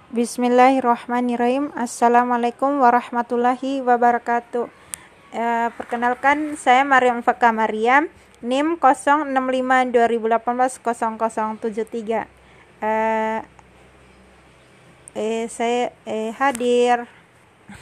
Bismillahirrahmanirrahim. Assalamualaikum warahmatullahi wabarakatuh. Perkenalkan, saya Mariam Faka Mariam, NIM 065 2018 0073. Saya hadir